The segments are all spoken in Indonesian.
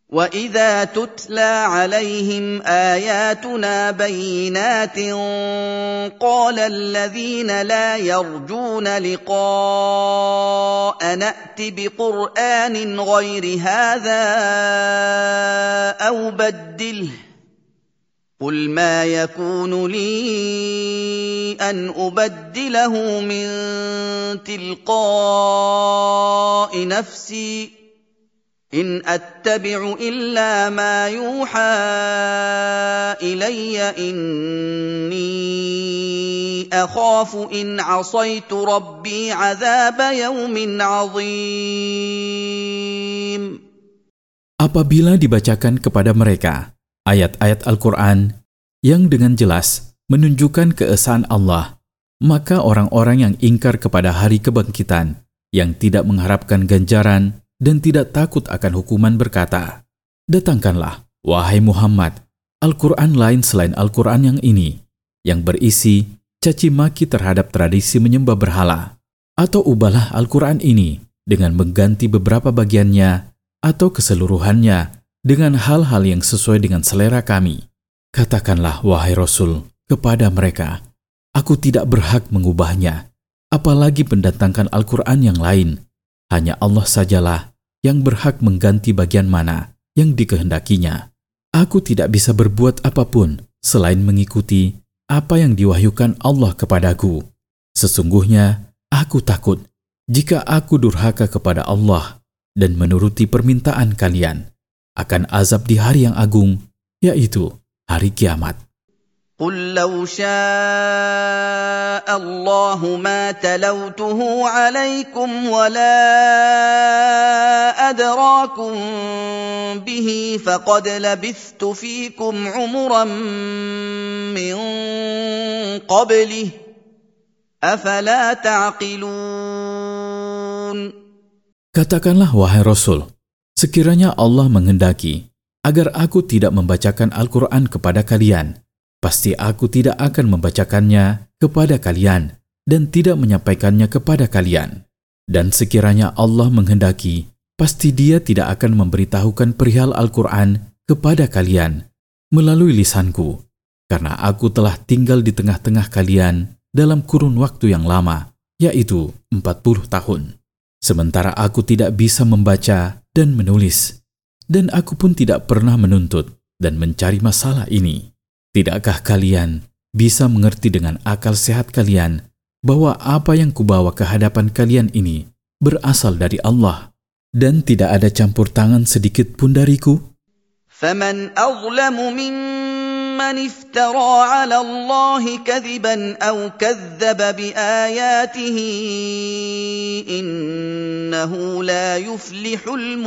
وَإِذَا تُتْلَى عَلَيْهِمْ آيَاتُنَا بَيِّنَاتٍ قَالَ الَّذِينَ لَا يَرْجُونَ لِقَاءَنَا ائْتِ بِقُرْآنٍ غَيْرِ هَٰذَا أَوْ بَدِّلْهُ قُلْ مَا يَكُونُ لِي أَنْ أُبَدِّلَهُ مِن تِلْقَاءِ نَفْسِي إِنْ أَتَّبِعُ إِلَّا مَا يُوحَىٰ إِلَيَّ إِنِّي أَخَافُ إِنْ عَصَيْتُ رَبِّي عَذَابَ يَوْمٍ عَظِيمٍ. Apabila dibacakan kepada mereka ayat-ayat Al-Quran yang dengan jelas menunjukkan keesaan Allah, maka orang-orang yang ingkar kepada hari kebangkitan, yang tidak mengharapkan ganjaran dan tidak takut akan hukuman berkata, "Datangkanlah, wahai Muhammad, Al-Quran lain selain Al-Quran yang ini, yang berisi caci maki terhadap tradisi menyembah berhala. Atau ubahlah Al-Quran ini dengan mengganti beberapa bagiannya atau keseluruhannya dengan hal-hal yang sesuai dengan selera kami." Katakanlah, wahai Rasul, kepada mereka, "Aku tidak berhak mengubahnya, apalagi mendatangkan Al-Quran yang lain. Hanya Allah sajalah yang berhak mengganti bagian mana yang dikehendakinya. Aku tidak bisa berbuat apapun selain mengikuti apa yang diwahyukan Allah kepadaku. Sesungguhnya aku takut jika aku durhaka kepada Allah dan menuruti permintaan kalian akan azab di hari yang agung, yaitu hari kiamat." قُل لَّوْ شَاءَ اللَّهُ مَا تَلَوْتُهُ عَلَيْكُمْ وَلَا أَدْرَاكُم بِهِ فَقَدْ لَبِثْتُ فِيكُمْ عُمُرًا مِّن قَبْلِهِ أَفَلَا تَعْقِلُونَ. Katakanlah, wahai Rasul, sekiranya Allah menghendaki agar aku tidak membacakan Al-Quran kepada kalian, pasti aku tidak akan membacakannya kepada kalian dan tidak menyampaikannya kepada kalian. Dan sekiranya Allah menghendaki, pasti Dia tidak akan memberitahukan perihal Al-Quran kepada kalian melalui lisanku, karena aku telah tinggal di tengah-tengah kalian dalam kurun waktu yang lama, yaitu 40 tahun. Sementara aku tidak bisa membaca dan menulis, dan aku pun tidak pernah menuntut dan mencari masalah ini. Tidakkah kalian bisa mengerti dengan akal sehat kalian bahwa apa yang kubawa ke hadapan kalian ini berasal dari Allah dan tidak ada campur tangan sedikit pun dariku? فَمَنْ أَظْلَمُ مِمَّنِ افْتَرَىٰ عَلَى اللَّهِ كَذِبًا أَوْ كَذَّبَ بِآيَاتِهِ إِنَّهُ لَا يُفْلِحُ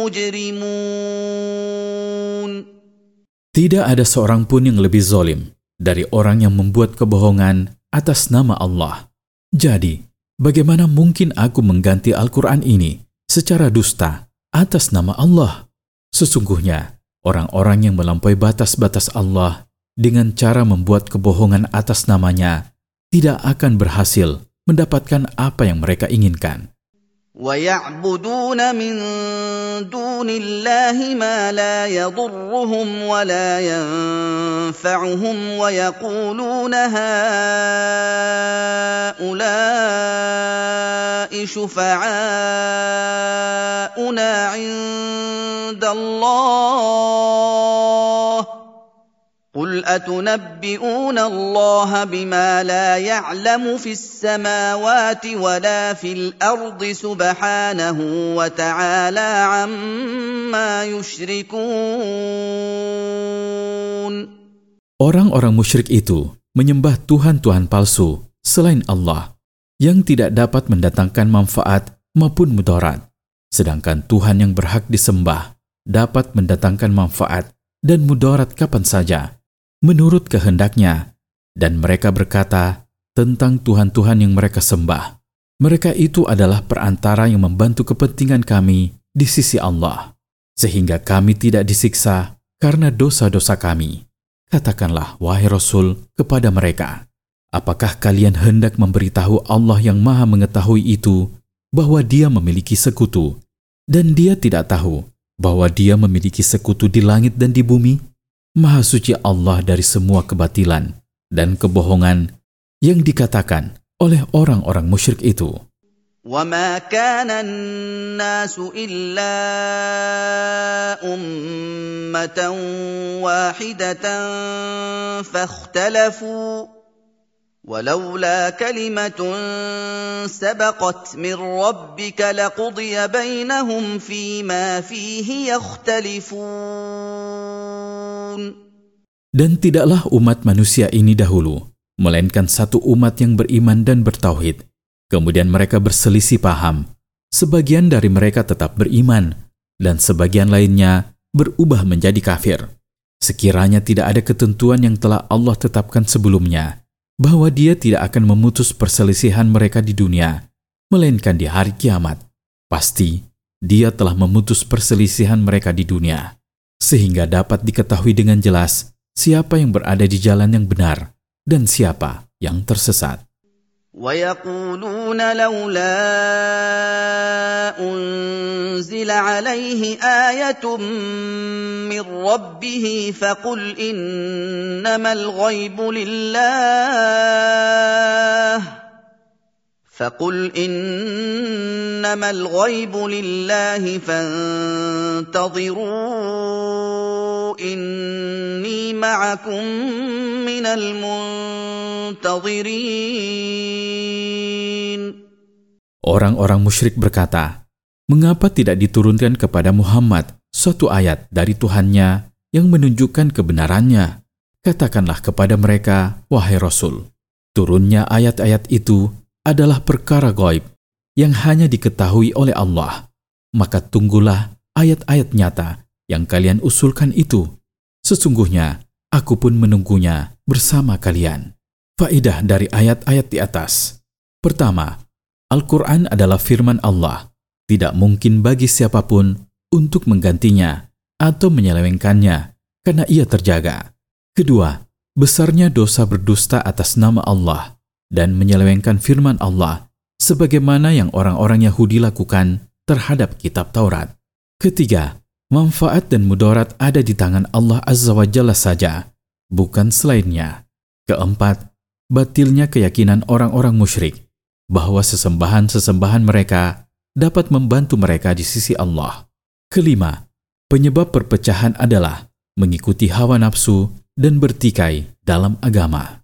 الْمُجْرِمُونَ. Tidak ada seorang pun yang lebih zalim dari orang yang membuat kebohongan atas nama Allah. Jadi, bagaimana mungkin aku mengganti Al-Quran ini secara dusta atas nama Allah? Sesungguhnya, orang-orang yang melampaui batas-batas Allah dengan cara membuat kebohongan atas namanya tidak akan berhasil mendapatkan apa yang mereka inginkan. وَيَعْبُدُونَ مِن دُونِ اللَّهِ مَا لَا يَضُرُّهُمْ وَلَا يَنفَعُهُمْ وَيَقُولُونَ هَٰؤُلَاءِ شُفَعَاؤُنَا عِندَ اللَّهِ قُلْ أَتُنَبِّئُونَ اللَّهَ بِمَا لَا يَعْلَمُ فِي السَّمَاوَاتِ وَلَا فِي الْأَرْضِ سُبْحَانَهُ وَتَعَالَىٰ عَمَّا يُشْرِكُونَ. Orang-orang musyrik itu menyembah Tuhan-Tuhan palsu selain Allah yang tidak dapat mendatangkan manfaat maupun mudarat, sedangkan Tuhan yang berhak disembah dapat mendatangkan manfaat dan mudarat kapan saja menurut kehendaknya, dan mereka berkata tentang Tuhan-Tuhan yang mereka sembah, mereka itu adalah perantara yang membantu kepentingan kami di sisi Allah, sehingga kami tidak disiksa karena dosa-dosa kami. Katakanlah, wahai Rasul, kepada mereka, apakah kalian hendak memberitahu Allah yang Maha Mengetahui itu bahwa Dia memiliki sekutu, dan Dia tidak tahu bahwa Dia memiliki sekutu di langit dan di bumi? Maha suci Allah dari semua kebatilan dan kebohongan yang dikatakan oleh orang-orang musyrik itu. وَمَا كَانَ النَّاسُ إِلَّا أُمَّةً وَاحِدَةً فَاخْتَلَفُوا وَلَوْلَا كَلِمَةٌ سَبَقَتْ مِنْ رَبِّكَ لَقُضِيَ بَيْنَهُمْ فِيمَا فِيهِ يَخْتَلِفُونَ. Dan tidaklah umat manusia ini dahulu, melainkan satu umat yang beriman dan bertauhid. Kemudian mereka berselisih paham. Sebagian dari mereka tetap beriman, dan sebagian lainnya berubah menjadi kafir. Sekiranya tidak ada ketentuan yang telah Allah tetapkan sebelumnya, bahwa Dia tidak akan memutus perselisihan mereka di dunia, melainkan di hari kiamat. Pasti Dia telah memutus perselisihan mereka di dunia, sehingga dapat diketahui dengan jelas siapa yang berada di jalan yang benar dan siapa yang tersesat. وَيَقُولُونَ لَوْلَا أُنْزِلَ عَلَيْهِ آيَةٌ مِّن رَّبِّهِ فَقُلْ إِنَّمَا الْغَيْبُ لِلَّهِ فَانتَظِرُوا إِنِّي مَعَكُم مِّنَ الْمُنتَظِرِينَ. Orang-orang musyrik berkata, mengapa tidak diturunkan kepada Muhammad suatu ayat dari Tuhannya yang menunjukkan kebenarannya? Katakanlah kepada mereka, wahai Rasul, turunnya ayat-ayat itu adalah perkara gaib yang hanya diketahui oleh Allah. Maka tunggulah ayat-ayat nyata yang kalian usulkan itu. Sesungguhnya aku pun menunggunya bersama kalian. Faedah dari ayat-ayat di atas. Pertama, Al-Quran adalah firman Allah. Tidak mungkin bagi siapapun untuk menggantinya atau menyelewengkannya karena ia terjaga. Kedua, besarnya dosa berdusta atas nama Allah dan menyelewengkan firman Allah sebagaimana yang orang-orang Yahudi lakukan terhadap kitab Taurat. Ketiga, manfaat dan mudarat ada di tangan Allah Azza wa Jalla saja, bukan selainnya. Keempat, batilnya keyakinan orang-orang musyrik bahwa sesembahan-sesembahan mereka dapat membantu mereka di sisi Allah. Kelima, penyebab perpecahan adalah mengikuti hawa nafsu dan bertikai dalam agama.